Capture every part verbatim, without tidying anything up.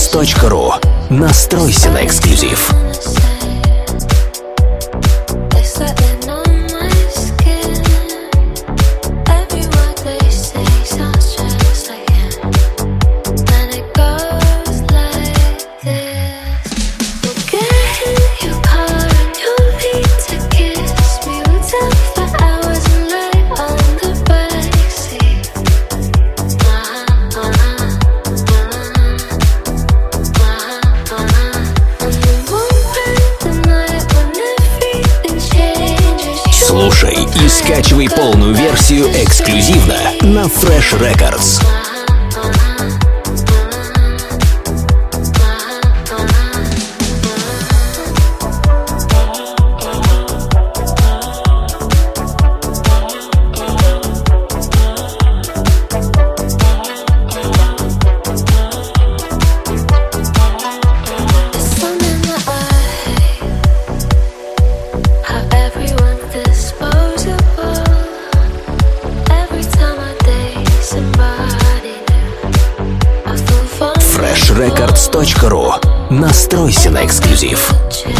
рекордс точка ру. Настройся на эксклюзив. Слушай и скачивай полную версию эксклюзивно на Fresh Records. фреш рекордс точка ру. Настройся на эксклюзив.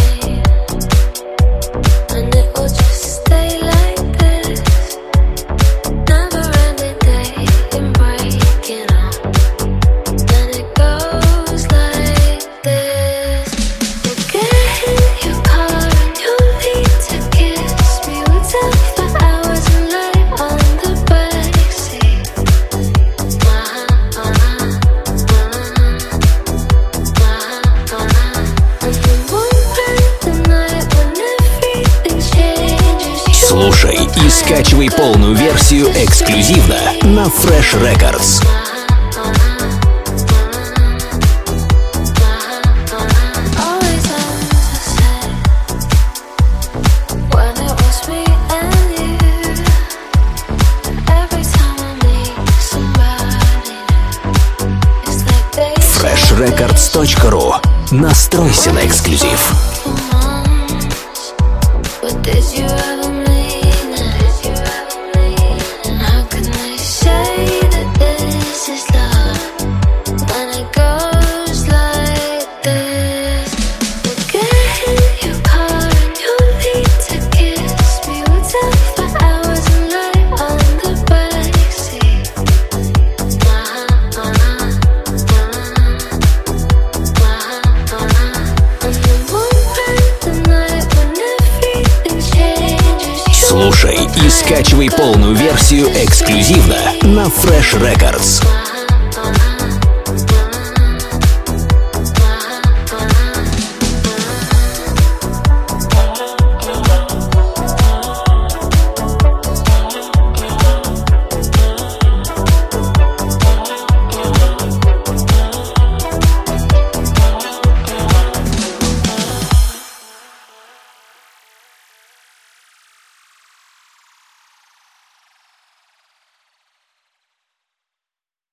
Слушай и скачивай полную версию эксклюзивно на Fresh Records. фреш рекордс точка ру. Настройся на эксклюзив. Слушай и скачивай полную версию эксклюзивно на Fresh Records.